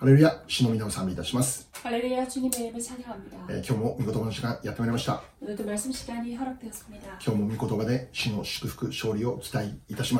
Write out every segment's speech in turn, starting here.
ハレルヤ、主の皆を賛美いたします。 할렐루야 주님의 이름을 찬양합니다. 今日も御言葉の時間やってまいりました。 오늘도 말씀 시간이 허락되었습니다. 今日も御言葉で主の祝福勝利を期待いたします。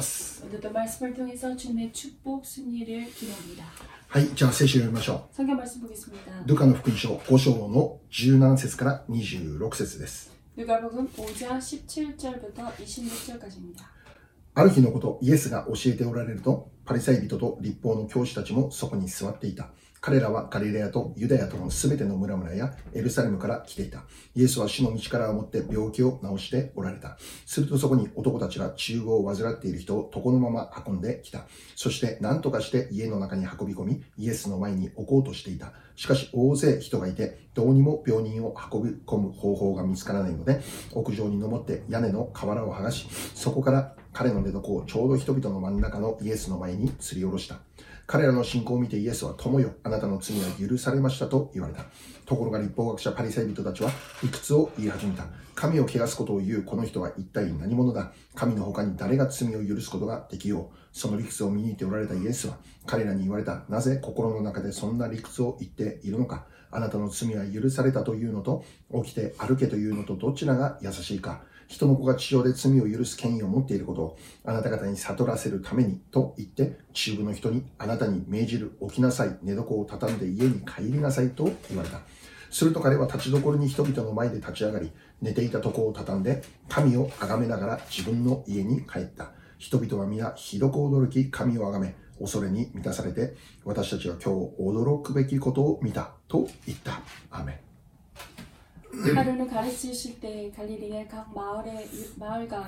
오늘도 말씀을 통해서 주님의 축복 승리를 기도합니다. はい、じゃあ聖書を読みましょ 성경 말씀 보겠습니다. う。ルカの福音書5章の17節から26節です。 누가복음 5장 17절부터 26절까지입니다. ある日のこと、イエスが教えておられると、パリサイ人と律法の教師たちもそこに座っていた。彼らはガリレアとユダヤとのすべての村々やエルサレムから来ていた。イエスは主の力を持って病気を治しておられた。するとそこに男たちが中風を患っている人を床のまま運んできた。そして何とかして家の中に運び込み、イエスの前に置こうとしていた。しかし大勢人がいて、どうにも病人を運び込む方法が見つからないので、屋上に登って屋根の瓦を剥がし、そこから彼の寝床をちょうど人々の真ん中のイエスの前に吊り下ろした。彼らの信仰を見てイエスは、友よ、あなたの罪は許されましたと言われた。ところが立法学者パリサイ人たちは理屈を言い始めた。神を汚すことを言うこの人は一体何者だ。神の他に誰が罪を許すことができよう。その理屈を見抜いておられたイエスは彼らに言われた。なぜ心の中でそんな理屈を言っているのか。あなたの罪は許されたというのと、起きて歩けというのとどちらが優しいか。人の子が地上で罪を許す権威を持っていることをあなた方に悟らせるためにと言って、中部の人にあなたに命じる。起きなさい、寝床を畳んで家に帰りなさいと言われた。すると彼は立ちどころに人々の前で立ち上がり、寝ていた床を畳んで神を崇めながら自分の家に帰った。人々は皆ひどく驚き、神を崇め恐れに満たされて、私たちは今日驚くべきことを見たと言った。アーメン。 하루는 가르치실 때 갈릴리의 각 마을과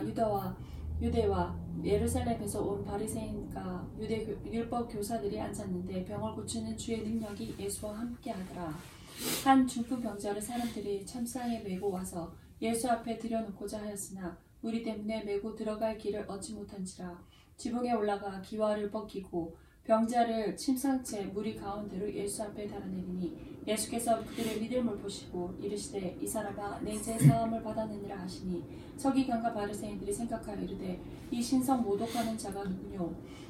유대와 예루살렘에서 온 바리새인과 율법 교사들이 앉았는데 병을 고치는 주의 능력이 예수와 함께 하더라. 한 중풍 병자를 사람들이 참상에 메고 와서 예수 앞에 들여놓고자 하였으나 무리 때문에 메고 들어갈 길을 얻지 못한지라. 지붕에 올라가 기와를 벗기고 병자를 침상채 무리 가운데로 예수 앞에 달아내리니 예수께서 그들의 믿음을 보시고 이르시되 이 사람아 내 죄 사함을 받았느니라 하시니 서기관과 바리새인들이 생각하여 이르되 이 신성 모독하는 자가 누구뇨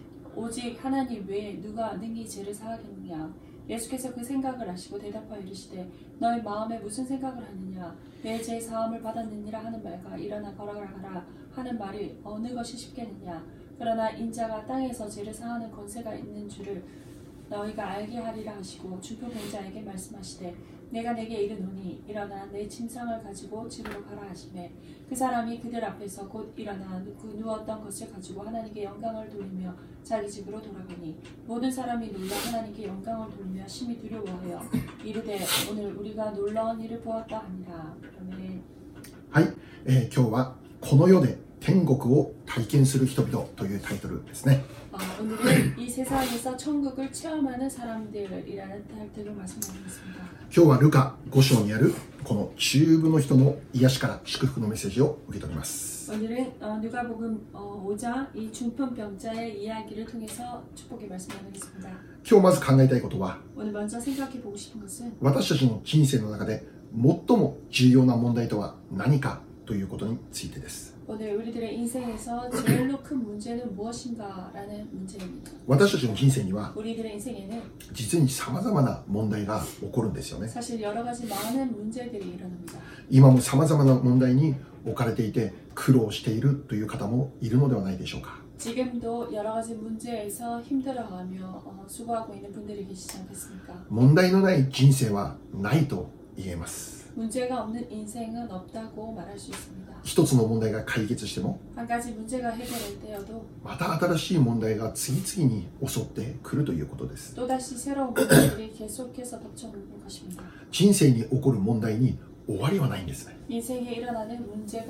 오직 하나님 외에 누가 능히 죄를 사하겠느냐. 예수께서 그 생각을 아시고 대답하여 이르시되 너희 마음에 무슨 생각을 하느냐. 내 죄 사함을 받았느니라 하는 말과 일어나 걸어가라 하는 말이 어느 것이 쉽겠느냐. 그러나 인자가 땅에서 죄를 사하는 권세가 있는 줄을 너희가 알게 하리라 하시고 중풍 병자에게 말씀하시되 내가 내게 이르노니 일어나 내 침상을 가지고 집으로 가라 하시매 그 사람이 그들 앞에서 곧 일어나 누웠던 것을 가지고 하나님께 영광을 돌리며 자기 집으로 돌아가니 모든 사람이 놀라 하나님께 영광을 돌리며 심히 두려워하여 이르되 오늘 우리가 놀라운 일을 보았다 하니라. 아멘. はい、今日はこの世で天国を体験する人々というタイトルですね。 오늘은 이 세상에서 천국을 체험하는 사람들이라는 타이틀로 말씀드리겠습니다. 今日はルカ5章にあるこの中部の人の癒しから祝福のメッセージを受け取ります。 오늘은 누가복음 5장 이 중풍병자의 이야기를 통해서 축복의 말씀 나누겠습니다. 今日まず考えたいことは、 오늘 먼저 생각해 보고 싶은 것은 私たちの人生の中で最も重要な問題とは何かということについてです。 오늘 우리들의 인생에서 제일로 큰 문제는 무엇인가라는 문제입니다. 私たちの人生には 우리들의 인생에는 実に様々な問題が起こるんですよね。 사실 여러 가지 많은 문제들이 일어납니다. 今も様々な問題に置かれていて苦労しているという方もいるのではないでしょうか。 지금도 여러 가지 문제에서 힘들어하며 수고하고 있는 분들이 계시지 않겠습니까? 問題のない人生はないと言えます。 문제가 없는 인생은 없다고 말할 수 있습니다. 一つの問題が解決しても 한 가지 문제가 해결될 때여도 また新しい問題が次々に襲ってくるということです。 또다시 새로운 문제들이 계속해서 덮쳐오는 것입니다. 人生に起こる問題に終わりはないんですね。 인생에 일어나는 문제는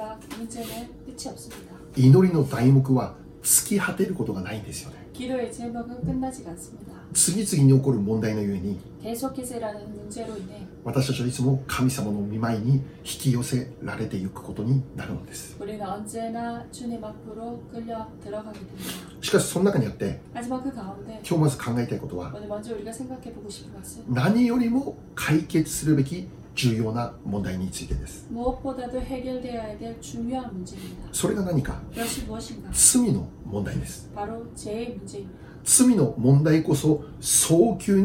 끝이 없습니다. 祈りの題目は尽き果てることがないんですよね。 기도의 제목은 끝나지가 않습니다. 次々に起こる問題のゆえに 계속해서 일어나는 문제로 인해 私たちはいつも神様の御前に引き寄せられていくことになるのです。 우리는 언제나 주님 앞으로 끌려 들어가게 됩니다. しかしその中にあって 하지만 그 가운데 今日まず考えたいことは 오늘 먼저 우리가 생각해 보고 싶은 것은 何よりも解決するべき重要な問題についてです。 무엇보다도 해결되어야 될 중요한 문제입니다. それが何か 그것이 무엇인가? 罪の問題です。 바로 죄의 문제입니다. 罪の問題こそ早急に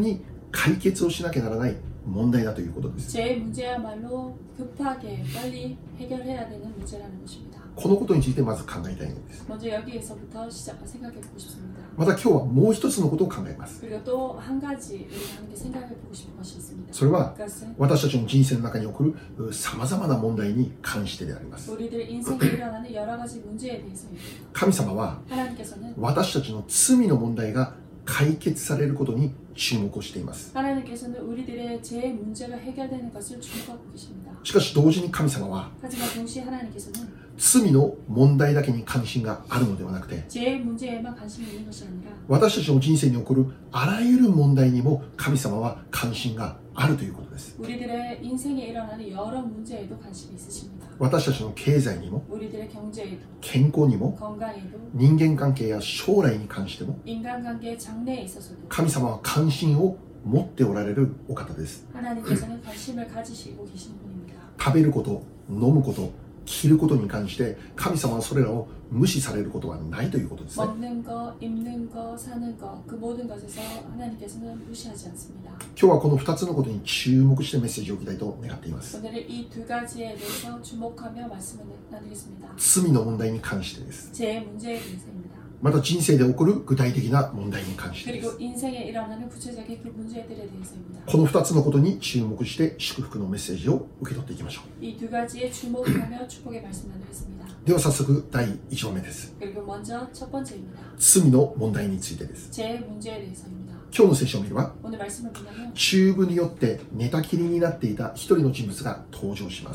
解決をしなきゃならない問題だということです。 제 문제야말로 급하게 빨리 해결해야 되는 문제라는 것입니다. このことについてまず考えたいのです。 먼저 여기에서부터 생각해보고 싶습니다. また今日はもう一つのことを考えます。 그리고 또 한 가지 우리가 함께 생각해보고 싶은 것이 있습니다. それは 그것은 私たちの人生の中に起こるさまざまな問題に関してであります。 우리들 인생에 일어나는 여러 가지 문제에 대해서입니다. 神様は 하나님께서는 私たちの罪の問題が解決されることに注目をしています。 하나님께서는 우리들의 죄 문제가 해결되는 것을 주목하고 계십니다. しかし同時に神様は 하지만 동시에 하나님께서는 罪の問題だけに関心があるのではなくて、 죄 문제에만 관심이 있는 것이 아니라 私たちの人生に起こるあらゆる問題にも神様は関心があるということです。 우리들의 인생에 일어나는 여러 문제에도 관심이 있으십니다. 私たちの経済にも 우리들의 경제에도 健康にも 건강에도 人間関係や将来に関しても 인간관계 장래에 있어서도 神様は関心を持っておられるお方です。 하나님께서는 관심을 가지시고 계신 분입니다. 食べること、飲むこと、着ることに関して神様はそれらを無視されることはないということですね。 먹는 거, 입는 거, 사는 거, 그 모든 것에서 하나님께서는 무시하지 않습니다. 今日はこの2つのことに注目してメッセージを置きたいと願っています。 오늘은 이 두 가지에 대해서 주목하며 말씀을 나누겠습니다. 罪の問題に関してです。 제 문제에 대해서입니다. また人生で起こる具体的な問題に関してです。 그리고 인생에 일어나는 구체적인 그 문제들에 대해서입니다. この2つのことに注目して祝福のメッセージを受け取っていきましょう。 이 두 가지에 주목하며 축복의 말씀 나누겠습니다. では早速第1番目です。 그리고 먼저 첫 번째입니다. 罪の問題についてです。 제 문제에 대해서입니다. 今日の聖書を見れば 오늘 말씀을 보면 チューブによって寝たきりになっていた一人の人物が登場します。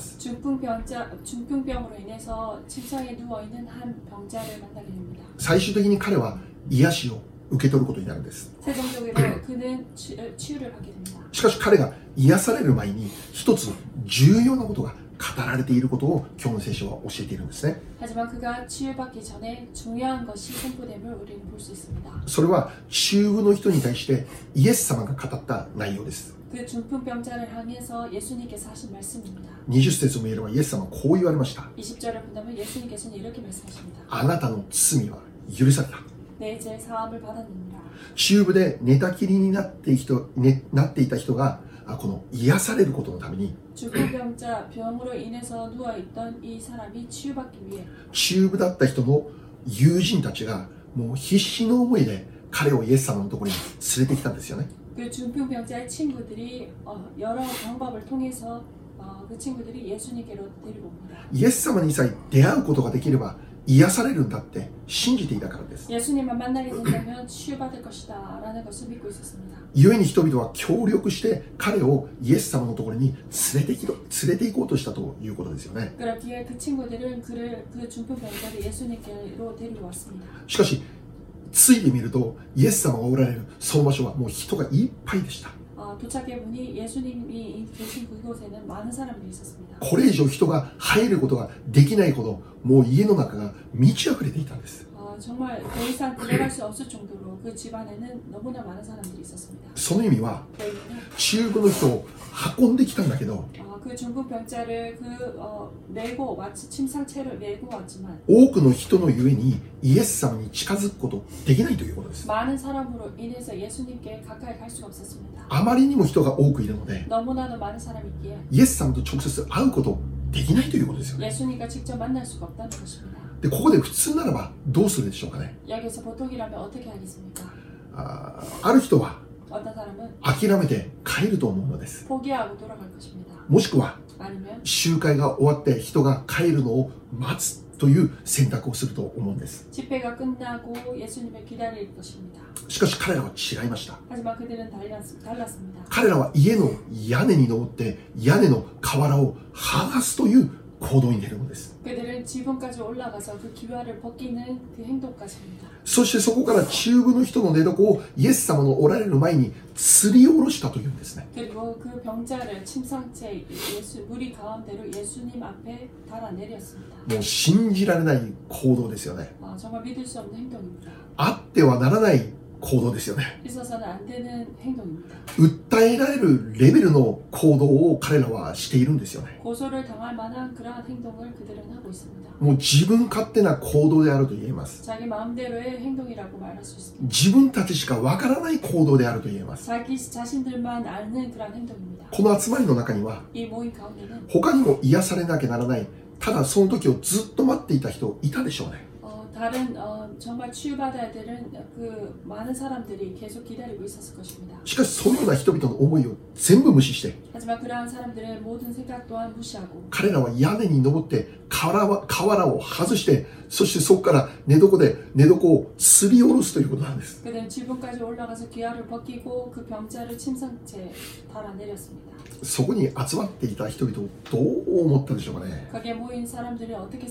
중풍병으로 인해서 침상에 누워있는 한 병자를 만나게 됩니다. 最終的に彼は癒しを受け取ることになるんです。 최종적으로 그는 치유를 받게 됩니다. しかし彼が癒される前に一つ重要なことが語られていることを今日の聖書は教えているんですね。 하지만 그가 치유받기 전에 중요한 것이 선포됨을 우리는 볼 수 있습니다. それは中部の人に対してイエス様が語った内容です。 그 중풍병자를 향해서 예수님께서 하신 말씀입니다. 20節を見ればイエス様はこう言われました。 20절을 본다면 예수님께서는 이렇게 말씀하십니다. あなたの罪は許された。 내 죄 사함을 받았느니라. 中部で寝たきりになっていた人がこの癒されることのために 중풍병자 병으로 인해서 누워있던 이 사람이 치유받기 위해 中部だった人の友人たちがもう必死の思いで彼をイエス様のところに連れてきたんですよね。 그 중풍병자의 친구들이 여러 방법을 통해서 그 친구들이 예수님께로 데리고 옵니다. イエス様にさえ出会うことができれば癒されるんだって信じていたからです。 예수님만 만나게 된다면 치유받을 것이다 라는 것을 믿고 있었습니다. 故に人々は協力して彼をイエス様のところに連れて行こうとしたということですよね。 그렇기에 그 친구들은 그 중풍병자를 예수님께로 데리고 왔습니다. しかしついてみるとイエス様がおられるその場所はもう人がいっぱいでした。 도착해 보니 예수님이 계신 그곳에는 많은 사람들이 있었습니다. これ以上人が入ることができないほどもう家の中が満ち溢れていたんです。 정말 더 이상 들어갈 수 없을 정도로 그 집안에는 너무나 많은 사람들이 있었습니다. その意味は 그 의미는 中部の人を運んできたんだけど 그 중풍병자를 메고 마치 침상채를 메고 왔지만 多くの人のゆえにイエス様に近づくことできないということです。 많은 사람으로 인해서 예수님께 가까이 갈 수가 없었습니다. あまりにも人が多くいるので 너무나도 많은 사람이 있기에 イエス様と直接会うことできないということですよね。 예수님과 직접 만날 수가 없다는 것입니다. でここで普通ならばどうするでしょうかね。 여기서 보통이라면 어떻게 하겠습니까? ある人は 어떤 사람은 諦めて帰ると思うのです。 포기하고 돌아갈 것입니다. もしくは 아니면 集会が終わって人が帰るのを待つという選択をすると思うんです。 집회가 끝나고 예수님을 기다릴 것입니다. しかし彼らは違いました。 하지만 그들은 달랐습니다. 彼らは家の屋根に登って屋根の瓦を剥がすという行動に出るのです。 그들은 지붕까지 올라가서 그 기와를 벗기는 그 행동까지입니다. そしてそこから中部の人の寝床をイエス様のおられる前に吊り下ろしたというんですね。 그리고 그 병자를 침상채 무리 가운데로 예수님 앞에 달아내렸습니다. もう信じられない行動ですよね。 정말 믿을 수 없는 행동입니다. あってはならない行動ですよね。 있어서는 안 되는 행동입니다. 訴えられるレベルの行動を彼らはしているんですよね。 고소를 당할 만한 그러한 행동을 그들은 하고 있습니다. もう自分勝手な行動であると言えます。 자기 마음대로의 행동이라고 말할 수 있습니다. 自分たちしかわからない行動であると言えます。 자기 자신들만 아는 그러한 행동입니다. この集まりの中には 이 모임 가운데는 他にも癒されなきゃならない、ただその時をずっと待っていた人いたでしょうね。 다른 정말 치유받아야 되는 그 많은 사람들이 계속 기다리고 있었을 것입니다. しかしそのような人々の思いを全部無視して、 하지만 그러한 사람들의 모든 생각 또한 무시하고 彼らは屋根に登って瓦を外して、そしてそこから寝床で寝床を吊り下ろすということなんです。 그들은 지붕까지 올라가서 귀화를 벗기고 그 병자를 침상채 달아내렸습니다. そこに集まっていた人々をどう思ったでしょうかね。 거기에 모인 사람들이 어떻게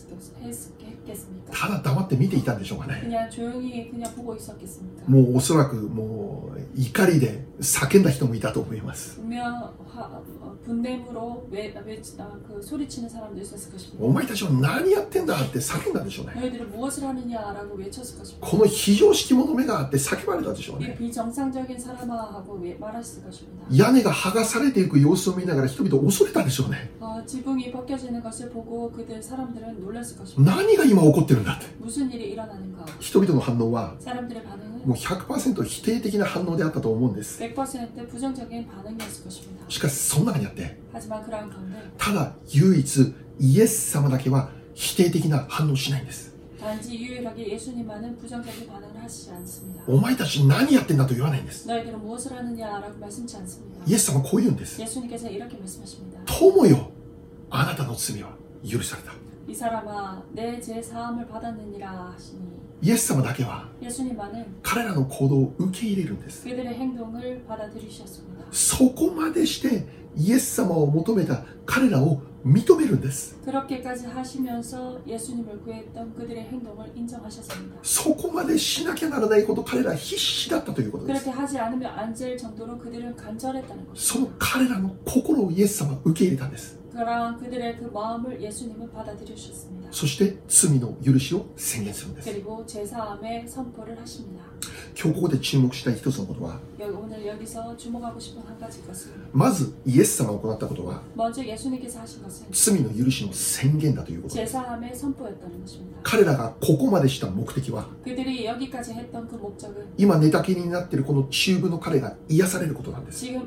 생각했겠습니까? ただ黙って見ていたんでしょうかね。 그냥 조용히 그냥 보고 있었겠습니까? もうおそらくもう怒りで叫んだ人もいたと思います。 분명 분냄으로 그 소리치는 사람도 있었을 것입니다. お前たちは何やってんだって叫んだでしょうね。 너희들은 무엇을 하느냐라고 외쳤을 것입니다. この非常識者目があって叫ばれたでしょう 이 ね。 비정상적인 사람아하고 말했을 것입니다. 屋根が剥がされていく様子を見ながら人々を恐れたでしょうね。 지붕이 벗겨지는 것을 보고 사람들은 놀랐을 것입니다. 何が今起こってるんだって。 무슨 일이 일어나는가? 人々の反応は 사람들의 반응은 もう 100% 否定的な反応であったと思うんです。 100% 부정적인 반응이었을 것입니다. しかしその中にあって、 하지만 그러한 가운데 ただ唯一イエス様だけは否定的な反応しないんです。 단지 유일하게 예수님만은 부정적인 반응을 하시지 않습니다. お前たち何やってんだと言わないんです。 너희들은 무엇을 하느냐라고 말씀치 않습니다. イエス様はこう言うんです。 예수님께서 이렇게 말씀하십니다. 友よ、あなたの罪は許された。 이 사람아 내 죄 사함을 받았느니라 하시니 イエス様だけは 예수님만은 彼らの行動を受け入れるんです。 그들의 행동을 받아들이셨습니다. そこまでしてイエス様を求めた彼らを認めるんです。 그렇게까지 하시면서 예수님을 구했던 그들의 행동을 인정하셨습니다. そこまでしなきゃならないこと、彼らは必死だったということです。 그렇게 하지 않으면 안 될 정도로 그들은 간절했다는 것입니다. その彼らの心をイエス様は受け入れたんです。 그러한 그들의 그 마음을 예수님은 받아들이셨습니다. そして罪の許しを宣言するんです。 그리고 제사함의 선포를 하십니다. 今日ここで注目したい一つのことは、 오늘 여기서 주목하고 싶은 한 가지 것은 まずイエス様が行ったことは 먼저 예수님께서 하신 것은 罪の許しの宣言だということです。 제사함의 선포였다는 것입니다. 彼らがここまでした目的は、 그들이 여기까지 했던 그 목적은 今寝たきりになっているこの中部の彼が癒されることなんです。 지금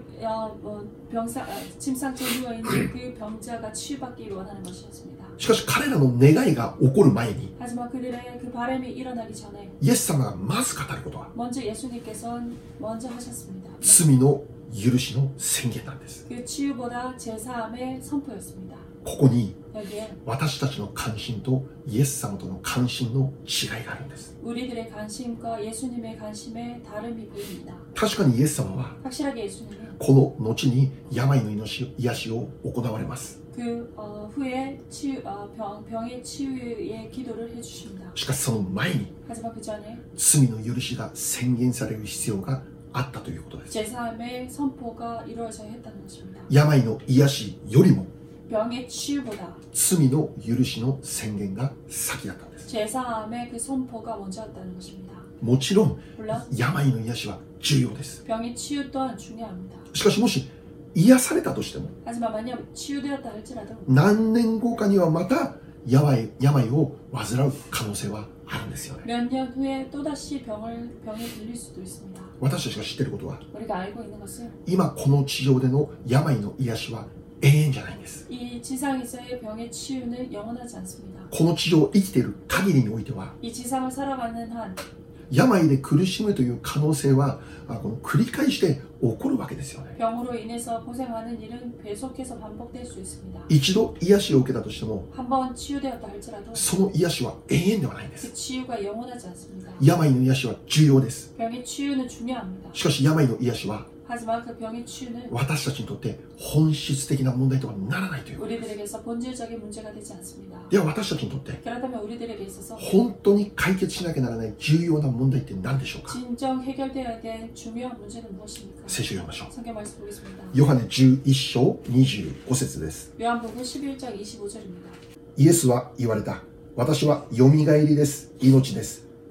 침상째 누워 있는 그 병자가 치유받기를 원하는 것이었습니다. しかし彼らの願いが起こる前に、 하지만 그들의 그 바람이 일어나기 전에 イエス様がまず語ることは 먼저 예수님께서 먼저 하셨습니다. 罪の許しの宣言なんです。 그 치유보다 제사함의 선포였습니다. ここに 여기에 私たちの関心とイエス様との関心の違いがあるんです。 우리들의 관심과 예수님의 관심의 다름이 보입니다. 確かにイエス様は 확실하게 예수님은 この後に病の癒しを行われます。 그 후에 병의 치유의 기도를 해주십니다. しかしその前に 하지만 그 전에 罪の許しが宣言される必要があったということです。 제사함의 선포가 이루어져야 했다는 것입니다. 病の癒しよりも 병의 치유보다 罪の許しの宣言が先だったんです。 제사함의 그 선포가 먼저였다는 것입니다. もちろん 물론 病の癒しは重要です。 병의 치유 또한 중요합니다. しかしもし癒されたとしても 하지만 만약 치유되었다 할지라도 何年後かにはまた病を患う可能性はあるんですよね。 몇 년 후에 또다시 병에 들릴 수도 있습니다. 私たちが知っていることは 우리가 알고 있는 것은 今この地上での病の癒しは永遠じゃないんです。 이 지상에서의 병의 치유는 영원하지 않습니다. この地上を生きている限りにおいては 이 지상을 살아가는 한 病で苦しむという可能性はこの繰り返して起こるわけですよね。 병으로 인해서 고생하는 일은 계속해서 반복될 수 있습니다. 一度癒しを受けたとしても 한번 치유되었다 할지라도 その癒しは永遠ではないんで 그 す。 치유가 영원하지 않습니다. 病の癒しは重要です。 병의 치유는 중요합니다. しかし病の癒しは 하지만 그 병의 치유는 私たちにとって本質的な問題とはならないということです。 우리들에게서 본질적인 문제가 되지 않습니다. では私たちにとって 그렇다면 우리들에게 있어서 本当に解決しなきゃならない重要な問題って何でしょうか。 진정 해결되어야 될 중요한 문제는 무엇입니까? 聖書を読みましょう。 성경 말씀 보겠습니다. ヨハネ11章25節です。 요한복음 11장 25절입니다. イエスは言われた。私はよみがえりです。命です。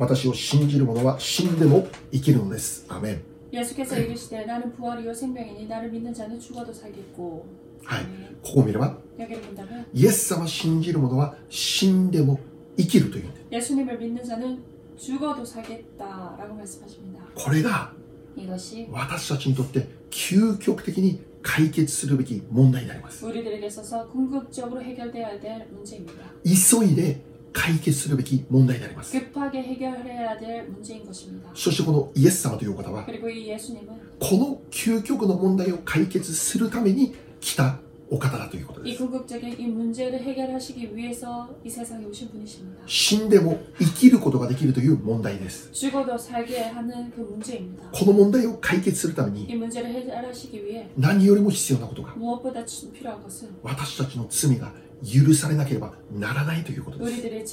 私を信じる者は死んでも生きるのです。アメン。 예수께서 이르시되 나는 부활이요 생명이니 나를 믿는 자는 죽어도 살겠고. はい。ここを見れば 여기를 본다면 イエス様を信じる者は死んでも生きるというんです。 예수님을 믿는 자는 죽어도 살겠다라고 말씀하십니다. これが 이것이 私たちにとって究極的に解決するべき問題であります。 우리들에게 있어서 궁극적으로 해결되어야 될 문제입니다. 急いで解決するべき問題であります。 급하게 해결해야 될 문제인 것입니다. そしてこのイエス様というお方は 그리고 이 예수님은 この究極の問題を解決するために来たお方だということで 이 す。 궁극적인 이 문제를 해결하시기 위해서 이 세상에 오신 분이십니다. 死んでも生きることができるという問題です。 죽어도 살게 하는 그 문제입니다. この問題を解決するため 이 に 문제를 해결하시기 위해 何よりも必要なことが 무엇보다 필요한 것은 私たちの罪が許されなければならないということです。 우리들의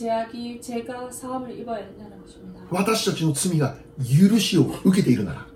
죄가 사함을 입어야 한다는 것입니다. 私たちの罪が許しを受けているなら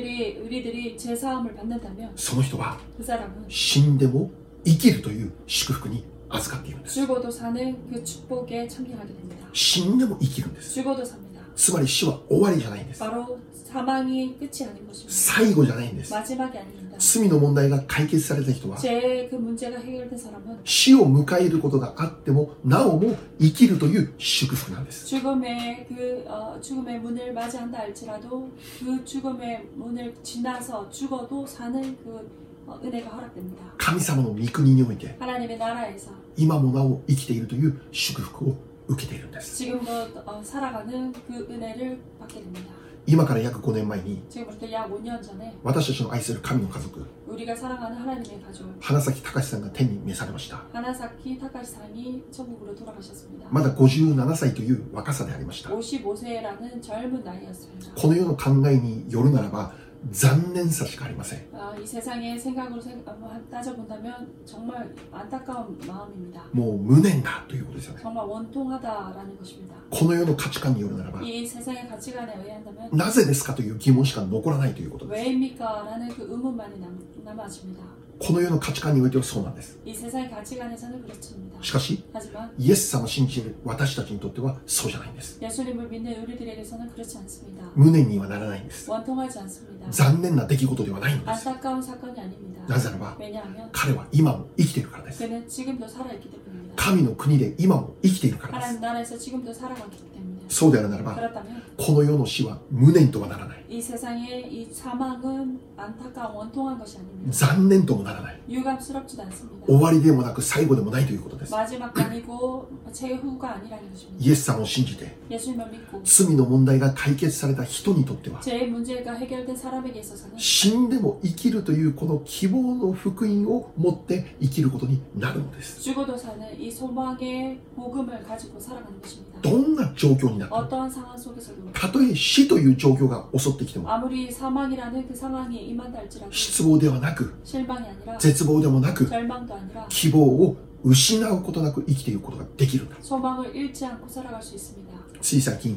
우리들이 죄 사함을 받는다면 その人は 그 사람은 死んでも生きるという祝福に預かっているんです。 죽어도 사는 그 축복에 참여하게 됩니다. 死んでも生きるんです。 죽어도 삽니다. つまり死は終わりじゃないんです。 바로 사망이 끝이 아닌 것입니다. 最後じゃないんです。 마지막이 아닙니다. 罪の問題が解決された人は 죄의 그 문제가 해결된 사람은 死を迎えることがあってもなおも生きるという祝福なんです。 죽음의 죽음의 문을 맞이한다 할지라도 그 죽음의 문을 지나서 죽어도 사는 그 은혜가 허락됩니다. 神様の御国において 하나님의 나라에서 今もなお生きているという祝福を受けているんです。 지금도 살아가는 그 은혜를 받게 됩니다. 今から約5年前に 지금부터 약 5년 전에 私たちの愛する神の家族 우리가 사랑하는 하나님의 가족 花咲隆さんが天に召されました。 하나사키 타카시상이 천국으로 돌아가셨습니다. まだ57歳という若さでありました。 55세라는 젊은 나이였습니다. この世の考えによるならば残念さしかありません。 이 세상의 생각으로 따져본다면 정말 안타까운 마음입니다. もう無念だということですよね。 정말 원통하다라는 것입니다. この世の価値観によるならば 이 세상의 가치관에 의한다면 なぜですかという疑問しか残らないということです。 왜입니까? 라는 그 의문만이 남아집니다. この世の価値観においてはそうなんです。 이 세상의 가치관에서는 그렇습니다. しかし 하지만 イエス様を信じる私たちにとってはそうじゃないんです。 예수님을 믿는 우리들에게서는 그렇지 않습니다. 無念にはならないんです。 원통하지 않습니다. 残念な出来事ではないんです。 안타까운 사건이 아닙니다. なぜならば 왜냐하면 彼は今も生きているからです。 그는 지금도 살아있기 때문입니다. 神の国で今も生きているからです。 하나님 나라에서 지금도 살아가기 때문에 そうであるならば 그렇다면 この世の死は無念とはならない。 이 세상의 이 사망은 안타까운 원통한 것이 아닙니다. 残念ともならない。 유감스럽지도 않습니다. 終わりでもなく最後でもないということです。 마지막도 아니고 최후가 아니라는 것입니다. イエス様を信じて 예수님을 믿고 罪の問題が解決された人にとっては 죄의 문제가 해결된 사람에게 있어서는 死んでも生きるというこの希望の福音を持って生きることになるのです。 죽어도 사는 이 소망의 복음을 가지고 살아가는 것입니다. どんな状況になっても 어떠한 상황 속에서도 たとえ死という状況が襲ってきても 아무리 사망이라는 그 상황이 임한다 할지라도 失望ではなく 실망이 아니라 絶望でもなく 절망도 아니라 希望を失うことなく生きていくことができるんだ。 소망을 잃지 않고 살아갈 수 있습니다. つい最近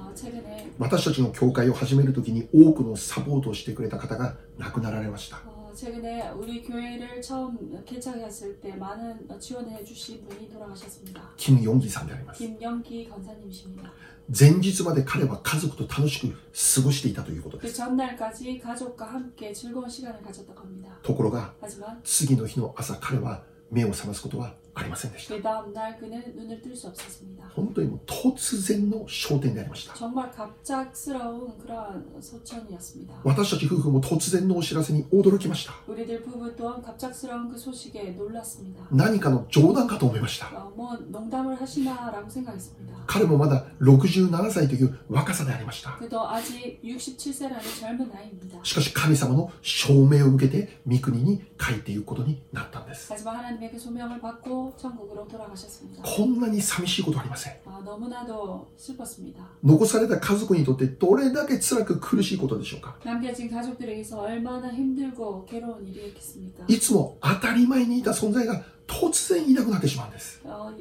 최근에 私たちの教会を始めるときに多くのサポートをしてくれた方が亡くなられました。 최근에 우리 교회를 처음 개척했을 때 많은 지원해 주신 분이 돌아가셨습니다. キム・ヨンギさんであります。 김영기 권사님이십니다. 前日まで彼は家族と楽しく過ごしていたということで 그 す。 전날까지 가족과 함께 즐거운 시간을 가졌다고 합니다. ところが 하지만 次の日の朝彼は目を覚ますことはありませんでした。 그 다음 날 그는 눈을 뜰 수 없었습니다. 本当にもう突然の昇天でありました。 정말 갑작스러운 그러한 소천이었습니다. 私たち夫婦も突然のお知らせに驚きました。 우리들 부부 또한 갑작스러운 그 소식에 놀랐습니다. 何かの冗談かと思いました。 뭐 농담을 하시나라고 생각했습니다. 彼もまだ67歳という若さでありました。 그도 아직 67세라는 젊은 나이입니다. しかし神様の証明を受けて御国に帰っていくことになったんです。 하지만 하나님의 그 소명을 받고 천국으로 돌아가셨습니다. こんなに寂しいことはありません。 너무나도 슬펐습니다. 残された家族にとってどれだけ辛く苦しいことでしょうか。 남겨진 가족들에게서 얼마나 힘들고 괴로운 일이었겠습니까? いつも当たり前にいた存在が突然いなくなってしまうんです。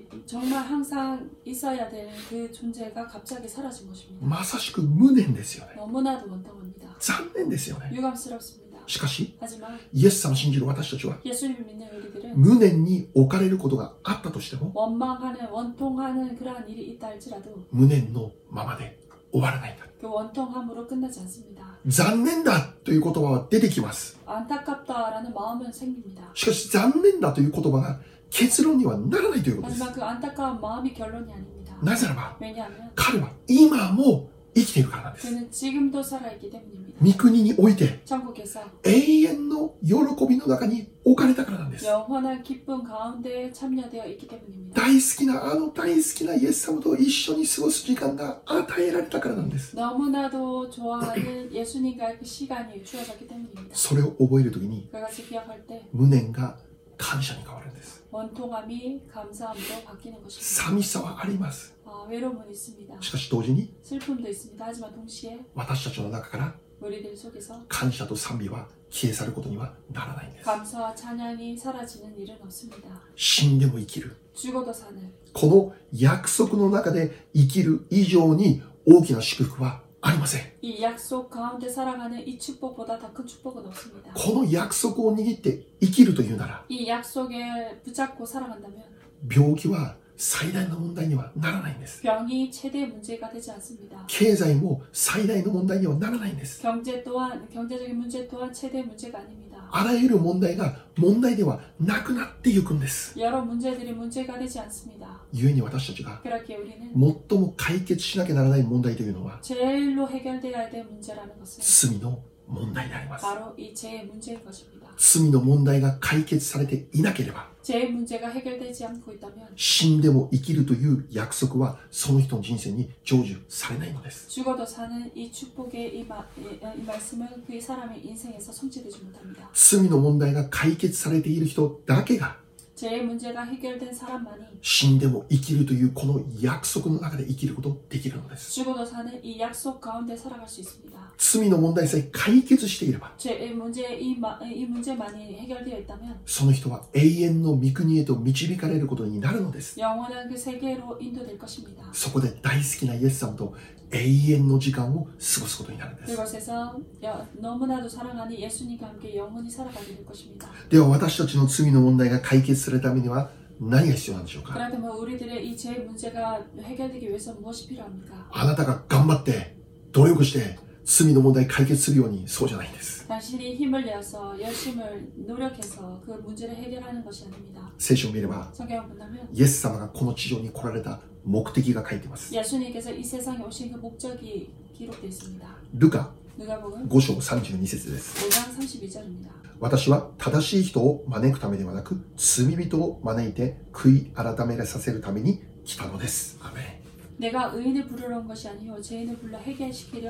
정말 항상 있어야 되는 그 존재가 갑자기 사라진 것입니다. まさしく無念ですよね。 너무나도 원통합니다. 残念ですよね。 유감스럽습니다. しかし 하지만 イエス様を信じる私たちは 예수님을 믿는 우리들은 無念に置かれることがあったとしても 원망하는 원통하는 그러한 일이 있다 할지라도 無念のままで終わらないんだ。 그 원통함으로 끝나지 않습니다. 残念だという言葉は出てきます。 안타깝다라는 마음은 생깁니다. しかし残念だという言葉が結論にはならないということです。 하지만 그 안타까운 마음이 결론이 아닙니다. なぜならば 왜냐하면 彼は今も生きているからなんです。 그는 지금도 살아있기 때문입니다. 御国において 천국에서 永遠の喜びの中に置かれたからなんです。 영원한 기쁨 가운데 참여되어 있기 때문입니다. 大好きな大好きなイエス様と一緒に過ごす時間が与えられたからなんです。 너무나도 좋아하는 예수님과의 그 시간이 주어졌기 때문입니다. それを覚えるときに 그것을 기억할 때 無念が感謝に変わるんです。 원통함이 감사함으로 바뀌는 것입니다. 寂しさはあります。 외로움은 있습니다. しかし同時に 슬픔도 있습니다. 하지만 동시에 私たちの中から 우리들 속에서 感謝と賛美は消え去ることにはならないんです。 감사와 찬양이 사라지는 일은 없습니다. 死んでも生きる。 죽어도 사는 この約束の中で生きる以上に大きな祝福はありません。 이 약속 가운데 살아가는 이 축복보다 더 큰 축복은 없습니다. この約束を握って生きるというなら 이 약속에 붙잡고 살아간다면 病気は最大の問題にはならないんです。 병이 최대 문제가 되지 않습니다. 経済も最大の問題にはならないんです。 경제적인 문제 또한 최대 문제가 아닙니다. あらゆる問題が問題ではなくなっていくんです。 여러 문제들이 문제가 되지 않습니다. 故に私たちが 그렇게 우리는 最も解決しなきゃならない問題というのは 제일로 해결되어야 될 문제라는 것은 罪の問題であります。 바로 이 죄의 문제인 것입니다. 罪の問題が解決されていなければ 죄의 문제가 해결되지 않고 있다면 死んでも生きるという約束はその人の人生に成就されないのです。 죽어도 사는 이 축복의 이 말씀은 그 사람의 인생에서 성취되지 못합니다. 罪の問題が解決されている人だけが 죄의 문제가 해결된 사람만이 死んでも生きるというこの約束の中で生きることができるのです。 죽어도 사는 이 약속 가운데 살아갈 수 있습니다. 罪の問題さえ解決していれば 죄의 문제 이 문제만이 해결되어 있다면 その人は永遠の御国へと導かれることになるのです。 영원한 그 세계로 인도될 것입니다. そこで大好きなイエス様と永遠の時間を過ごすことになるんです。 그곳에서 너무나도 사랑하는 예수님과 함께 영원히 살아가게 될 것입니다. では私たちの罪の問題が解決するためには何が必要なんでしょうか。 그렇다면 우리들의 이 죄의 문제가 해결되기 위해서 무엇이 필요합니까? あなたが頑張って努力して罪の問題解決するようにそうじゃないんです。 당신이 힘을 내어서 열심을 노력해서 그 문제를 해결하는 것이 아닙니다. 聖書を見れば 성경을 본다면 イエス様がこの地上に来られた目的が書いています。 예수님께서 이 세상에 오신 그 목적이 기록되어 있습니다. ルカ 누가복음 5章32節です。 5장 32절입니다. 私は正しい人を招くためではなく罪人を招いて悔い改めさせるために来たのです。アメン。 내가 의인을 부르러 온 것이 아니요 죄인을 불러 회개시키려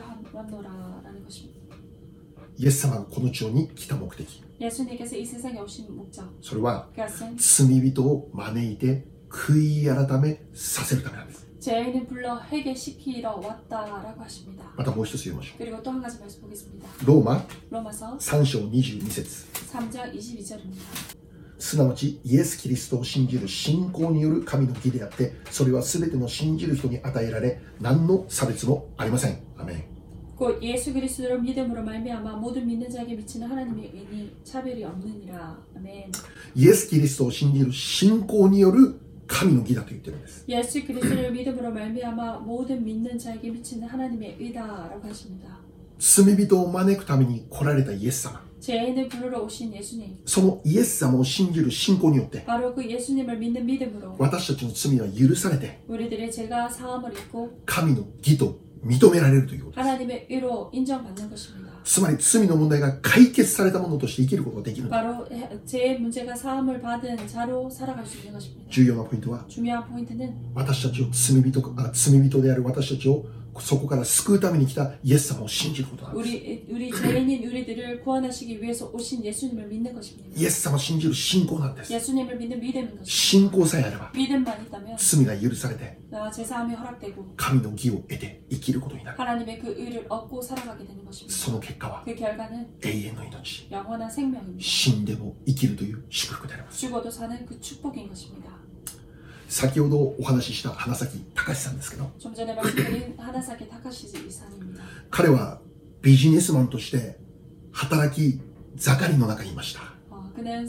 왔노라라는 것입니다. イエス様がこの地上に来た目的、 예수님께서 이 세상에 오신 목적, それは 그것은 罪人を招いて悔い改めさせるためなんです。 죄인을 불러 회개시키러 왔다라고 하십니다. またもう一つ読みましょ 그리고 또 한 가지 말씀 보겠습니다. う。ローマ 로마서 3章22節 3장 22절입니다. すなわちイエス・キリストを信じる信仰による神の義であって、それはすべての信じる人に与えられ、何の差別もありません。アメン。 곧 예수 그리스도를 믿음으로 말미암아 모든 믿는 자에게 미치는 하나님의 은이 차별이 없느니라. 아멘. イエス・キリストを信じる信仰による神の義だと言ってるんです。 예수 그리스도를 믿음으로 말미암아 모든 믿는 자에게 미치는 하나님의 의다라고 하십니다. 罪人を招くために来られたイエス様、 죄인을 부르러 오신 예수님, そのイエス様を信じる信仰によって 바로 그 예수님을 믿는 믿음으로 私たちの罪は許されて 우리들의 죄가 사함을 입고 神の義と認められるということです。 하나님의 의로 인정받는 것입니다. つまり罪の問題が解決されたものとして生きることができるんです。 바로 죄의 문제가 사함을 받은 자로 살아갈 수 있는 것입니다. 重要なポイントは 중요한 포인트는 私たちを罪人である私たちをそこから救うために来たイエス様を信じることなんです。 우리 죄인인 우리들을 구원하시기 위해서 오신 예수님을 믿는 것입니다. イエス様を信じる信仰なんです。 예수님을 믿는 믿음인 것입니다. 信仰さえあれば 믿음만 있다면 罪が許されて 제사함이 허락되고 神の義を得て生きることになる。 하나님의 그 의를 얻고 살아가게 되는 것입니다. その結果は 그 결과는 永遠の命、 영원한 생명입니다. 死んでも生きるという祝福であります。 죽어도 사는 그 축복인 것입니다. 先ほどお話しした花咲隆さんですけど、 좀 전에 말씀드린 하나사키 타카시 이사입니다. 彼はビジネスマンとして働き盛りの中にいました。 그는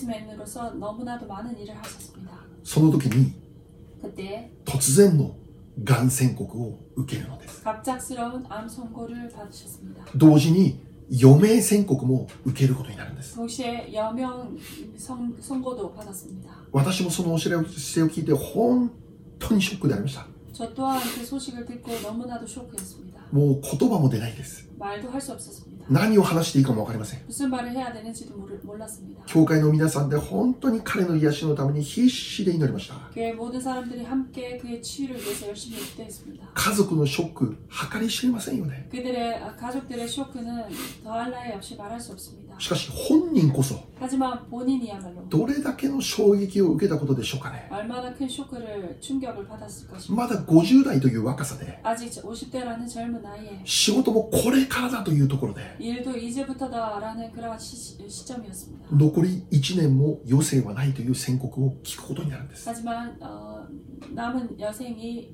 비즈니스맨으로서 너무나도 많은 일을 하셨습니다. その時に 그때 突然のがん宣告を受けるのです。 갑작스러운 암 선고를 받으셨습니다. 同時に余命宣告も受けることになるんです。 동시에 여명 선고도 받았습니다. 私もそのお知らせを聞いて本当にショックでありました。 저 또한 그 소식을 듣고 너무나도 쇼크였습니다. もう言葉も出ないです。 말도 할 수 없었습니다. 何を話していいかも分かりません。 무슨 말을 해야 되는지도 몰랐습니다. 教会の皆さんで本当に彼の癒しのために必死で祈りました。 교회 모든 사람들이 함께 그의 치유를 위해서 열심히 기도했습니다. 家族のショック計り知れませんよね。 그들의 가족들의 쇼크는 더할 나위 없이 말할 수 없습니다. しかし本人こそ 하지만 본인이야말로 どれだけの衝撃を受けたことでしょうかね。 얼마나 큰 쇼크를 충격을 받았을 것입니다. まだ50代という若さで 아직 50대라는 젊은 나이에 仕事もこれからだというところで 일도 이제부터다라는 그러한 시점이었습니다. 残り1年も余生はないという宣告を聞くことになるんです。 하지만 남은 여생이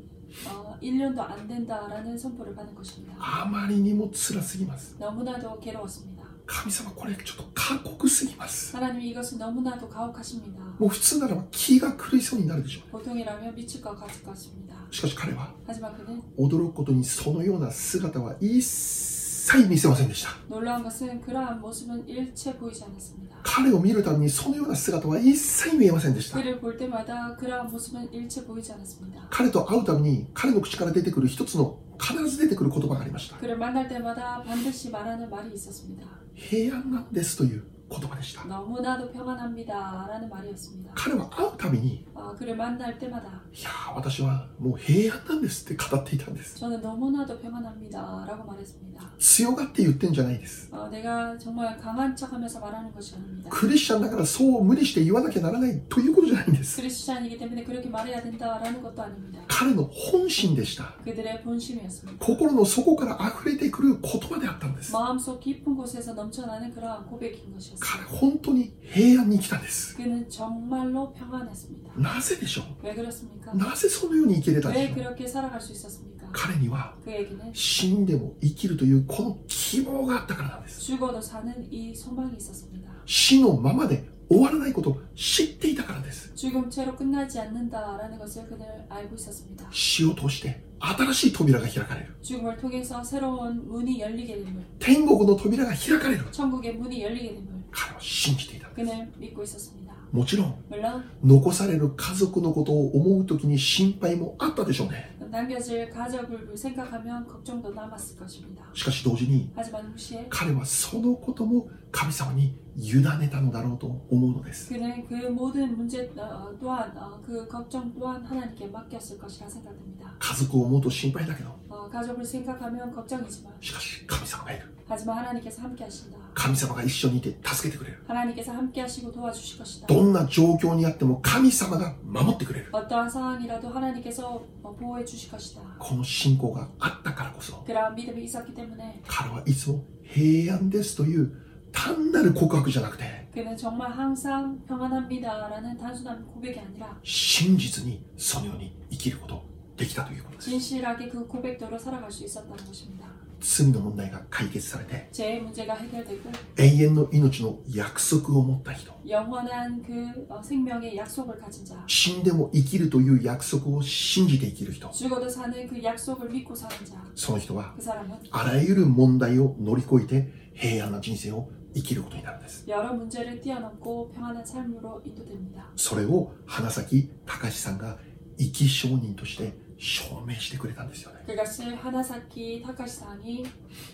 1년도 안 된다라는 선포를 받은 것입니다. あまりにも辛すぎます。 너무나도 괴로웠습니다. 神様これちょっと過酷すぎます。 하나님이 이것은 너무나도 가혹하십니다. もう普通ならば気が狂いそうになるでしょう。 보통이라면 미칠 것 같을 것입니다. しかし彼は 하지만 그는 驚くことにそのような姿は一切見せませんでした。 놀라운 것은 그러한 모습은 일체 보이지 않았습니다. 彼を見るたびにそのような姿は一切見えませんでした。 그를 볼 때마다 그러한 모습은 일체 보이지 않았습니다. 彼と会うたびに彼の口から出てくる一つの必ず出てくる言葉がありました。 그를 만날 때마다 반드시 말하는 말이 있었습니다. 平安なんですという言葉でした。 너무나도 평안합니다 라는 말이었습니다. 彼は会うたびに 그를 만날 때마다 いやー私はもう平安なんですって語っていたんです。 저는 너무나도 평안합니다 라고 말했습니다. 強がって言ってんじゃないです。 내가 정말 강한 척하면서 말하는 것이 아닙니다. クリスチャンだからそう無理して言わなきゃならないということじゃないんです。 크리스찬이기 때문에 그렇게 말해야 된다라는 것도 아닙니다. 彼の本心でした。 그들의 본심이었습니다. 心の底から溢れてくる言葉であったんです。 마음속 깊은 곳에서 넘쳐나는 그러한 고백인 것이었습니다. 彼本当に平安に来たんです。 그는 정말로 평안했습니다. なぜでしょう。 왜 그렇습니까? なぜそのように生きれたんで 왜 しょう。 그렇게 살아갈 수 있었습니까? 彼には 그에게는 死んでも生きるというこの希望があったからなんです。 죽어도 사는 이 소망이 있었습니다. 死のままで終わらないことを知っていたからです。 죽음체로 끝나지 않는다라는 것을 그는 알고 있었습니다. 死を通して新しい扉が開かれる。 죽음을 통해서 새로운 문이 열리게 됨을, 天国の扉が開かれる。 천국의 문이 열리게 됨을 彼は信じていたんです。 그는 믿고 있었습니다. もちろん 물론 残される家族のことを思うときに心配もあったでしょうね。 남겨질 가족을 생각하면 걱정도 남았을 것입니다. しかし同時に 하지만 동시에 彼はそのことも神様に委ねたのだろうと思うのです。 그는 그 모든 문제 또한 그 걱정 또한 하나님께 맡겼을 것이라 생각됩니다. 家族を思うと心配だけど、 가족을 생각하면 걱정이지만 しかし神様がいる。 하지만 하나님께서 함께 하신다. 神様が一緒にいて助けてくれる。 하나님께서 함께 하시고 도와주실 것이다. どんな状況にあっても神様が守ってくれる。 어떠한 상황이라도 하나님께서 보호해 주실 것이다. この信仰があったからこそ 그러한 믿음이 있었기 때문에 彼はいつも平安ですという単なる告白じゃなくて 그는 정말 항상 평안합니다라는 단순한 고백이 아니라 真実にそのように生きることができたということです。 진실하게 그 고백대로 살아갈 수 있었다는 것입니다. 罪の問題が解決されて 죄의 문제가 해결되고 永遠の命の約束を持った人、 영원한 그 생명의 약속을 가진 자, 死んでも生きるという約束を信じて生きる人、 죽어도 사는 그 약속을 믿고 사는 자, その人は 그 사람은 あらゆる問題を乗り越えて平安な人生を生きることになるんです。 여러 문제를 뛰어넘고 평안한 삶으로 인도됩니다. それを花咲隆さんが生き証人として証明してくれたんですよね。 그것을 하나사키 타카시상이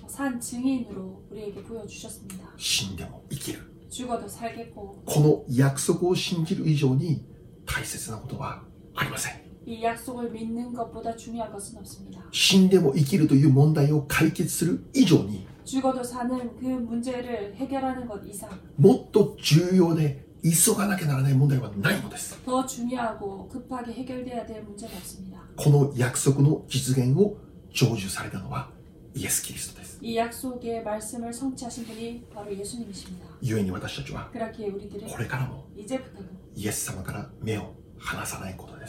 산 증인으로 우리에게 보여주셨습니다. 死んでも生きる。 죽어도 살겠고 この約束を信じる以上に大切なことはありません。 이 약속을 믿는 것보다 중요한 것은 없습니다. 死んでも生きるという問題を解決する以上に 죽어도 사는 그 문제를 해결하는 것 이상 もっと重要で急がなきゃならない問題はないのです。 더 중요하고 급하게 해결돼야 될 문제는 없습니다. この約束の実現を成就されたのはイエス・キリストです。 이 약속의 말씀을 성취하신 분이 바로 예수님이십니다. 故に私たちは 그렇기에 우리들은 これからも 이제부터는 イエス様から目を離さないことです。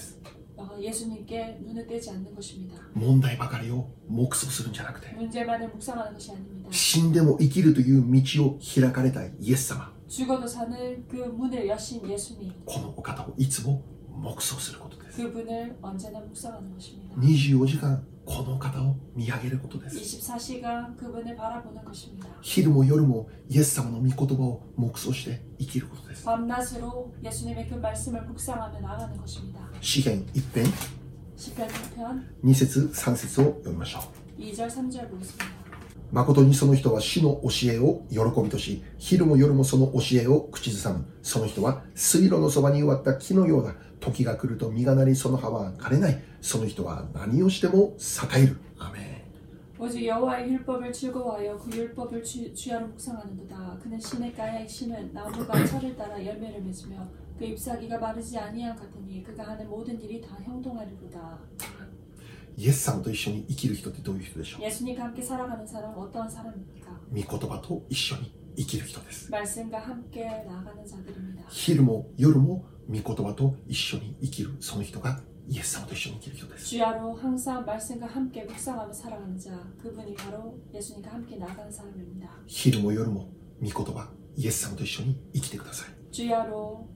예수님께 눈을 떼지 않는 것입니다. 問題ばかりを黙想するんじゃなくて 문제만을 묵상하는 것이 아닙니다. 死んでも生きるという道を開かれたイエス様、 죽어도 사는 그 문을 여신 예수님, このお方をいつも黙想することです。 그분을 언제나 묵상하는 것입니다. 24時間この方を見上げることです。 24시간 그분을 바라보는 것입니다. 昼も夜もイエス様の御言葉を黙想して生きることです。 밤낮으로 예수님의 그 말씀을 묵상하며 나가는 것입니다. 詩編一編 시편 1편 2節3節を読みましょう。 2절 3절 보겠습니다. 誠にその人は主の教えを喜びとし、昼も夜もその教えを口ずさむ。その人は水路のそばに植わった木のようだ。時が来ると実がなり、その葉は枯れない。その人は何をしても栄える。アメン。 오직 여호와의 율법을 즐거워하여 그 율법을 주야로 묵상하는도다. 그는 시냇가에 심은 나무가 철을 따라 열매를 맺으며 그 잎사귀가 마르지 아니함 같으니 그가 하는 모든 일이 다 형통하리로다. イエス様と一緒に生きる人ってどういう人でしょう？ 예수님과 함께 살아가는 사람 어떤 사람입니까? 御言葉と一緒に生きる人です。 말씀과 함께 나아가는 자들입니다. 昼も夜も御言葉と一緒に生きるその人がイエス様と一緒に生きる人です。 주야로 항상 말씀과 함께 묵상하며 살아가는 자, 그분이 바로 예수님과 함께 나아가는 사람입니다. 昼も夜も御言葉イエス様と一緒に生きてください。 주야로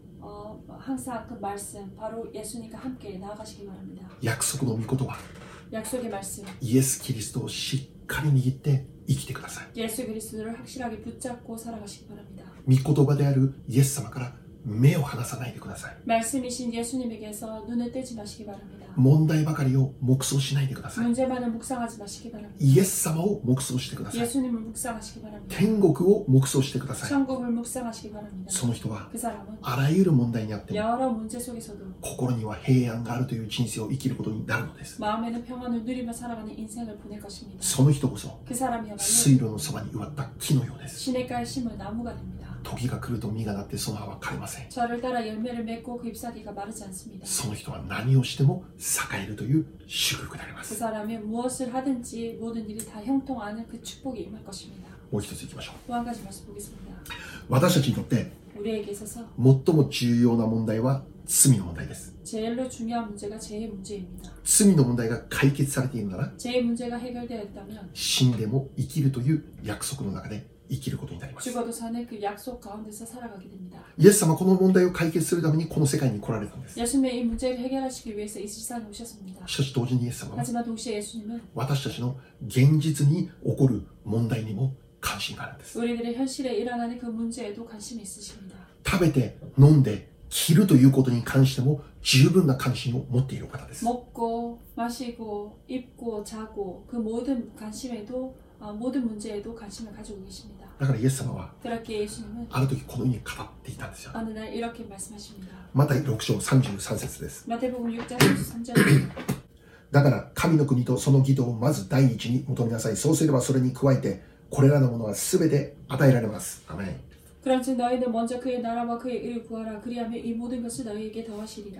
항상 그 말씀, 바로 예수님과 함께 나아가시기 바랍니다. 約束の御言葉 약속의 말씀, イエス・キリストをしっかり握って生きてください。 예수 그리스도를 확실하게 붙잡고 살아가시기 바랍니다. 御言葉であるイエス様から目を離さないでください。 말씀이신 예수님에게서 눈을 떼지 마시기 바랍니다. 問題ばかりを黙想しないでください。 문제만을 묵상하지 마시기 바랍니다. イエス様を黙想してください。 예수님을 묵상하시기 바랍니다. 天国を黙想してください。 천국을 묵상하시기 바랍니다. その人は 그 사람은 あらゆる問題にあっても 여러 문제 속에서도 心には平安があるという人生を生きることになるのです。 마음에는 평안을 누리며 살아가는 인생을 보낼 것입니다. その人こそ 그 사람이야말로 水路のそばに植わった木のようです。 시냇가에 심은 나무가 됩니다. 時が来ると実がなってその葉は枯れません。 저를 따라 열매를 맺고 그 잎사귀가 마르지 않습니다. その人は何をしても栄えるという祝福でありま 그 す。 사람이 무엇을 하든지 모든 일이 다 형통하는 그 축복이 임할 것입니다. もう一ついきましょう。 또 한 가지 말씀 보겠습니다. 私たちにとって 우리에게 있어서 最も重要な問題は罪の問題です。 제일로 중요한 문제가 죄의 문제입니다. 罪の問題が解決されているなら 죄의 문제가 해결되어 있다면 死んでも生きるという約束の中で生きることになります。 죽어도 사는 그 약속 가운데서 살아가게 됩니다. イエス様はこの問題を解決するためにこの世界に来られたんです。 예수님의 이 문제를 해결하시기 위해서 이 세상에 오셨습니다. しかし同時にイエス様は 하지만 동시에 예수님은 私たちの現実に起こる問題にも関心があるんです。 우리들의 현실에 일어나는 그 문제에도 관심이 있으십니다. 食べて飲んで着るということに関しても十分な関心を持っている方です。 먹고 마시고 입고 자고 그 모든 관심에도 모든 문제에도 관심을 가지고 계십니다. だからイエス様は 그렇게 예수님은 ある時このように語っていたんですよ。 어느 날 이렇게 말씀하십니다. マタイ6章33節です。 마태복음 6장 33절입니다. だから神の国とその義とをまず第一に求めなさい。そうすればそれに加えてこれらのものはすべて与えられます。アメン。 그런즉 너희는 먼저 그의 나라와 그의 의를 구하라. 그리하면 이 모든 것을 너희에게 더하시리라.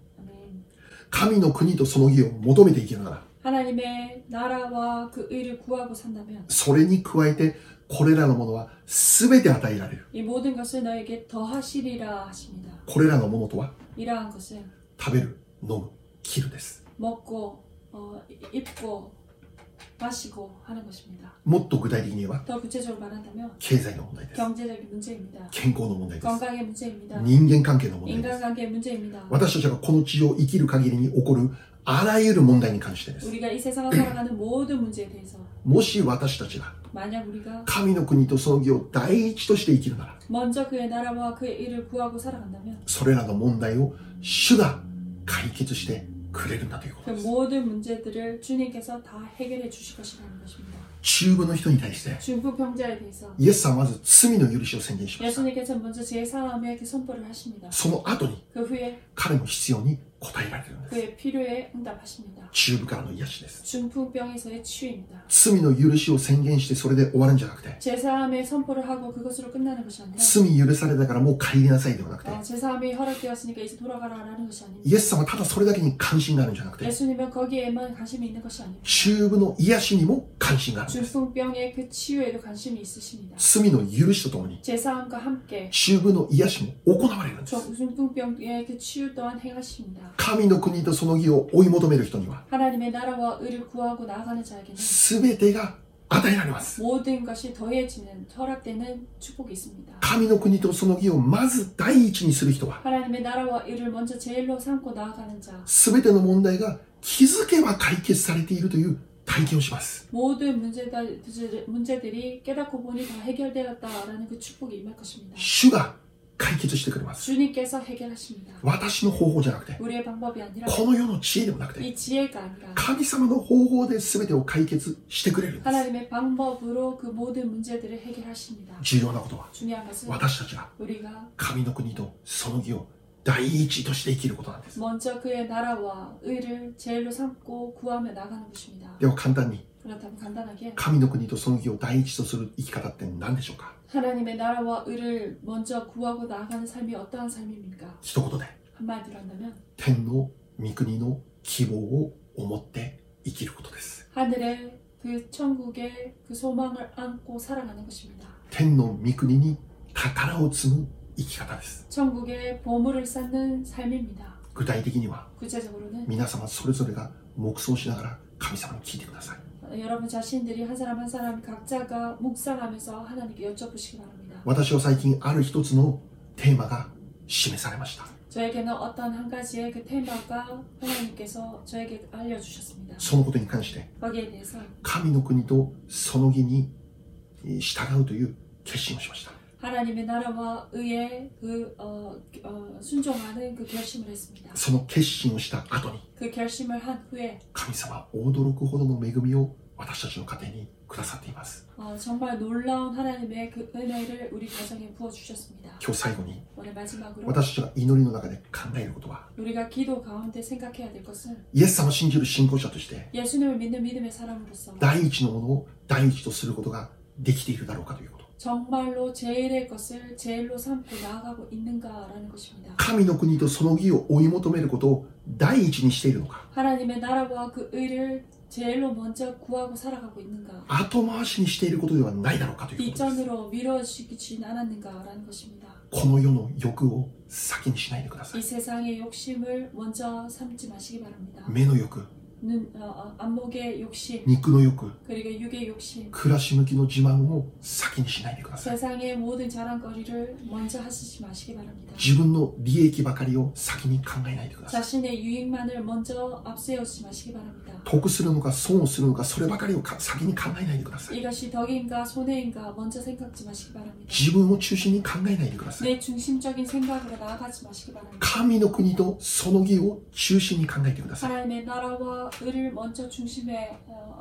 아멘. 神の国とその義を求めていけるなら 하나님의 나라와 그 의를 구하고 산다면 それに加えてこれらのものはすべて与えられる。 이 모든 것을 너에게 더하시리라 하십니다. これらのものとは 이러한 것은 食べる、飲む、着るです。 먹고 입고 마시고 하는 것입니다. もっと具体的に言えば 더 구체적으로 말한다면 経済の問題です。 경제적인 문제입니다. 健康の問題です。 건강의 문제입니다. 人間関係の問題です。 인간관계의 문제입니다. 私たちがこの地上を生きる限りに起こるあらゆる問題に関してです。 우리가 이 세상을 살아가는 모든 문제에 대해서 もし私たちが 만약 우리가 神の国とその義を第一として生きるなら 먼저 그의 나라와 그의 일을 구하고 살아간다면 それらの問題を主が解決してくれるんだというこ 그 とです。 모든 문제들을 주님께서 다 해결해 주실 것이라는 것입니다. 中部の人に対して 중부 병자에 대해서 イエス様はまず罪の許しを宣言しました。 예수님께서 먼저 제사함의 그 선포를 하십니다. その後に 그 후에 彼の必要に応えられるんです。 그의 필요에 응답하십니다. 中部からの癒しです。 중풍병에서의 치유입니다. 罪の許しを宣言してそれで終わるんじゃなくて 제사함의 선포를 하고 그것으로 끝나는 것이 아니라 罪許されたからもう帰りなさいではなくて 제사함이 허락되었으니까 이제 돌아가라라는 것이 아닙니다. イエス様はただそれだけに関心があるんじゃなくて 예수님은 거기에만 관심이 있는 것이 아닙니다. 中部の癒しにも関心があるんです。 중풍병의 그 치유에도 관심이 있으십니다. 罪の許しとともに 제사함과 함께 中部の癒しも行われるんです。 중풍병의 그 치유 또한 행하십니다. 神の国とその義を追い求める人には 하나님의 나라와 의를 구하고 나아가는 자에게는 全てが与えられます。 모든 것이 더해지는 허락되는 축복이 있습니다. 神の国とその義をまず第一にする人は 하나님의 나라와 의를 먼저 제일로 삼고 나아가는 자, 全ての問題が気づけば解決されているという体験をします。 모든 문제들이 깨닫고 보니 다 해결되었다라는 그 축복이 임할 것입니다. 主が解決してくれます。 주님께서 해결하십니다. 私の方法じゃなくて、 우리의 방법이 아니라 この世の知恵でもなくて、 이 지혜가 아니라 神様の方法で全てを解決してくれるんです。 하나님의 방법으로 그 모든 문제들을 해결하십니다. 重要なことは、 중요한 것은 私たちが 우리가 神の国とその義を第一として生きることなんです。 먼저 그의 나라와 의를 제일로 삼고 구하며 나가는 것입니다. では簡単に、 그렇다면 간단하게 神の国とその義を第一とする生き方って何でしょうか？ 하나님의 나라와 의를 먼저 구하고 나아가는 삶이 어떠한 삶입니까? 一言で、 한마디로 한다면 天の御国の希望を思って生きることです。 하늘의 그 천국의 그 소망을 안고 살아가는 것입니다. 天の御国に宝を積む生き方です。 천국의 보물을 쌓는 삶입니다. 具体的には、 구체적으로는 皆様それぞれが黙想しながら神様に聞いてください。 여러분 자신들이 한 사람 한 사람 각자가 묵상하면서 하나님께 여쭤보시기 바랍니다. 私は最近ある一つのテーマが示されました。 저에게는 어떤 한 가지의 그 테마가 하나님께서 저에게 알려주셨습니다. そのことに関して、 거기에 대해서 神の国とその義に従うという決心をしました。 하나님의 나라와 의에 순종하는 그 결심을 했습니다. その決心をした後に、 그 결심을 한 후에 神様は驚くほどの恵みを私たちの家庭にくださっています。 정말 놀라운 하나님의 그 은혜를 우리 가정에 부어주셨습니다. 今日最後に、 오늘 마지막으로 私たちが祈りの中で考えることは、 우리가 기도 가운데 생각해야 될 것은 イエス様を信じる信仰者として、 예수님을 믿는 믿음의 사람으로서 第一のものを第一とすることができているだろうかということ。 정말로 제일의 것을 제일로 삼고 나아가고 있는가라는 것입니다. 神の国とその義を追い求めることを第一にしているのか、 하나님의 나라와 그 의를 제일로 먼저 구하고 살아가고 있는가, 後回しにしていることではないだろうかということです。 뒷전으로 미뤄지지 않았는가라는 것입니다. この世の欲を先にしないでくださ 이 い。 세상의 욕심을 먼저 삼지 마시기 바랍니다. 目の欲、 안목의 욕심, 肉の欲、 그리고 육의 욕심, 暮らし向きの自慢を先にしないでください。 세상의 모든 자랑거리를 먼저 하시지 마시기 바랍니다. 自分の利益ばかりを先に考えないでください。 자신의 유익만을 먼저 앞세우지 마시기 바랍니다. 得するのか損をするのか、そればかりを先に考えないでください。 이것이 덕인가 손해인가 먼저 생각지 마시기 바랍니다. 自分を中心に考えないでください。 내 중심적인 생각으로 나아가지 마시기 바랍니다. 神の国とその義を中心に考えてください。 하나님의 나라와 의를 먼저 중심에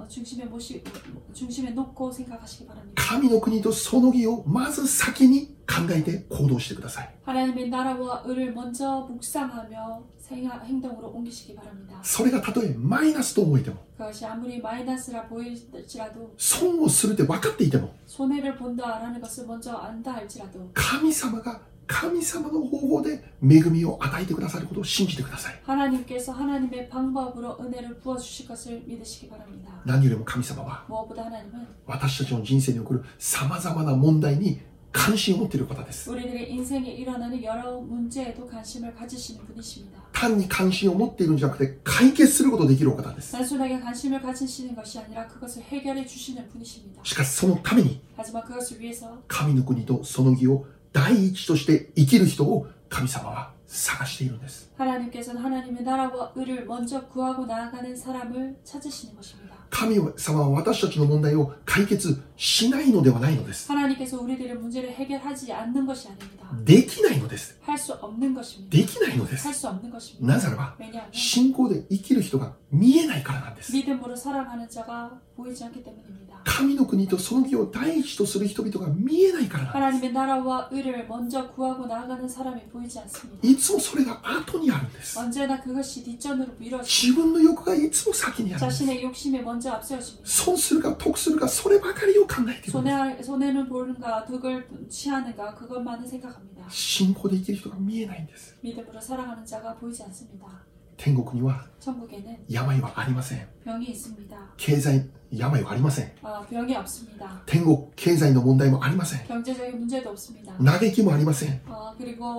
놓고 생각하시기 바랍니다. 神の国とその義をまず先に考えて行動してください。 하나님의 나라와 의를 먼저 묵상하며 행동으로 옮기시기 바랍니다. それがたとえマイナスと思えても、 그것이 아무리 마이너스라 보일지라도 損をするって分かっていても、 손해를 본다라는 것을 먼저 안다 할지라도 神様が神様の方法で恵みを与えてくださることを信じてください。 하나님께서 하나님의 방법으로 은혜를 부어주실 것을 믿으시기 바랍니다. 何よりも神様は 무엇보다 하나님은 私たちの人生に起こる様々な問題に関心を持っている方です。 우리들의 인생에 일어나는 여러 문제에도 관심을 가지시는 분이십니다. 単に関心を持っているんじゃなくて解決することができるお方です。 단순하게 관심을 가지시는 것이 아니라 그것을 해결해 주시는 분이십니다. しかしそのために 하지만 그것을 위해서 神の国とその義を第一として生きる人を神様は探しているんです。 하나님께서는 하나님의 나라와 의를 먼저 구하고 나아가는 사람을 찾으시는 것입니다. 神様は私たちの問題を解決しないのではないのです。 하나님께서 우리들의 문제를 해결하지 않는 것이 아닙니다. できないのです。 할 수 없는 것입니다. できないのです。 할 수 없는 것입니다. なぜならば 왜냐하면 信仰で生きる人が見えないからなんです。 믿음으로 살아가는 자가 보이지 않기 때문입니다. 神の国とその義を第一とする人々が見えないからなんです。 하나님의 나라와 의를 먼저 구하고 나아가는 사람이 보이지 않습니다. いつもそれが後にあるんです。 언제나 그것이 뒷전으로 미뤄지고 自分の欲がいつも先にあるんです。 자신의 욕심에 먼저 앞세워집니다. 損するか得するかそればかりを考えているんです。 손해는 보는가 덕을 취하는가 그것만을 생각합니다. 信仰で生きる人が見えないんです。 믿음으로 살아가는 자가 보이지 않습니다. 天国には 천국에는 病はありません。 병이 있습니다. 経済病はありません。 병이 없습니다. 天国経済の問題もありません。 경제적인 문제도 없습니다. 嘆きもありません。 그리고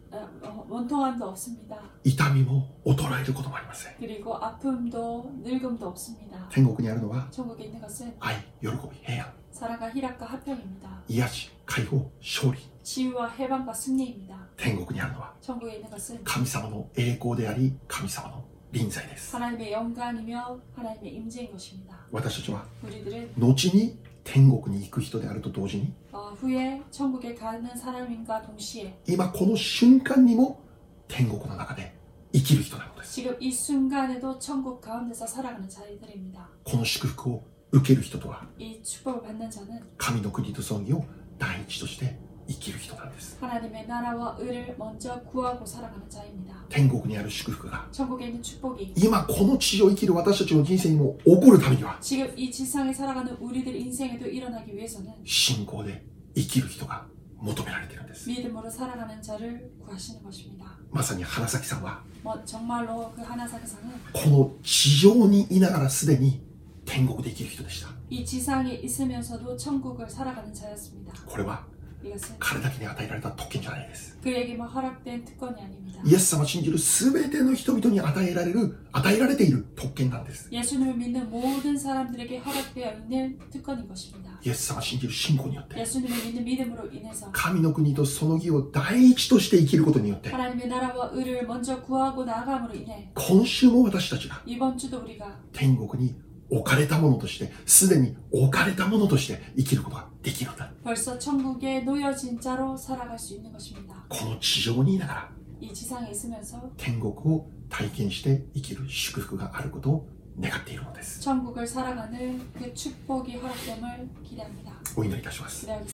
원통함도 없습니다. 痛みも衰えることもありません。 그리고 아픔도 늙음도 없습니다. 天国にあるのは 천국에 있는 것은 愛、喜び、平安、 사랑과 희락과 화평입니다. 癒し、解放、勝利。 치유와 해방과 승리입니다. 天国にあるのは 천국에 있는 것은 神様の栄光であり、神様の臨在です。 하나님의 영광이며 하나님의 임재인 것입니다. 私たちは 우리들은 後に天国に行く人であると同時に、 후에 천국에 가는 사람인가 동시에 今この瞬間にも天国の中で生きる人なのです。 지금 이 순간에도 천국 가운데서 살아가는 자들입니다. この祝福を受ける人とは 이 축복을 받는 자는 神の国と葬儀を第一として生きる人なんです。 하나님의 나라와 의를 먼저 구하고 살아가는 자입니다. 天国にある祝福が 천국에 있는 축복이 今この地を生きる私たちの人生にも起こるためには 지금 이 지상에 살아가는 우리들 인생에도 일어나기 위해서는 信仰で生きる人が求められているんです。 믿음으로 살아가는 자를 구하시는 것입니다. まさに花咲さんは 정말로 그 하나사기상은 この地上にいながらすでに天国で生きる人でした。 이 지상에 있으면서도 천국을 살아가는 자였습니다. これは 이것은 彼だけに与えられた特権じゃないです。 그에게만 허락된 특권이 아닙니다. イエス様を信じる全ての人々に与えられている特権なんです。 예수님을 믿는 모든 사람들에게 허락되어 있는 특권인 것입니다. イエス様を信じる信仰によって 예수님을 믿는 믿음으로 인해서 神の国とその義を第一として生きることによって 하나님의 나라와 의를 먼저 구하고 나아감으로 인해 今週も私たちが 이번 주도 우리가 天国に置かれたものとしてすでに置かれたものとして生きることができるんだ。 벌써 천국에 놓여진 자로 살아갈 수 있는 것입니다. この地上にいながら 이 지상에 있으면서 天国を体験して生きる祝福があることを願っているのです。 천국을 살아가는 그 축복이 허락됨을 기대합니다. お祈りいたします。 기대하겠습니다.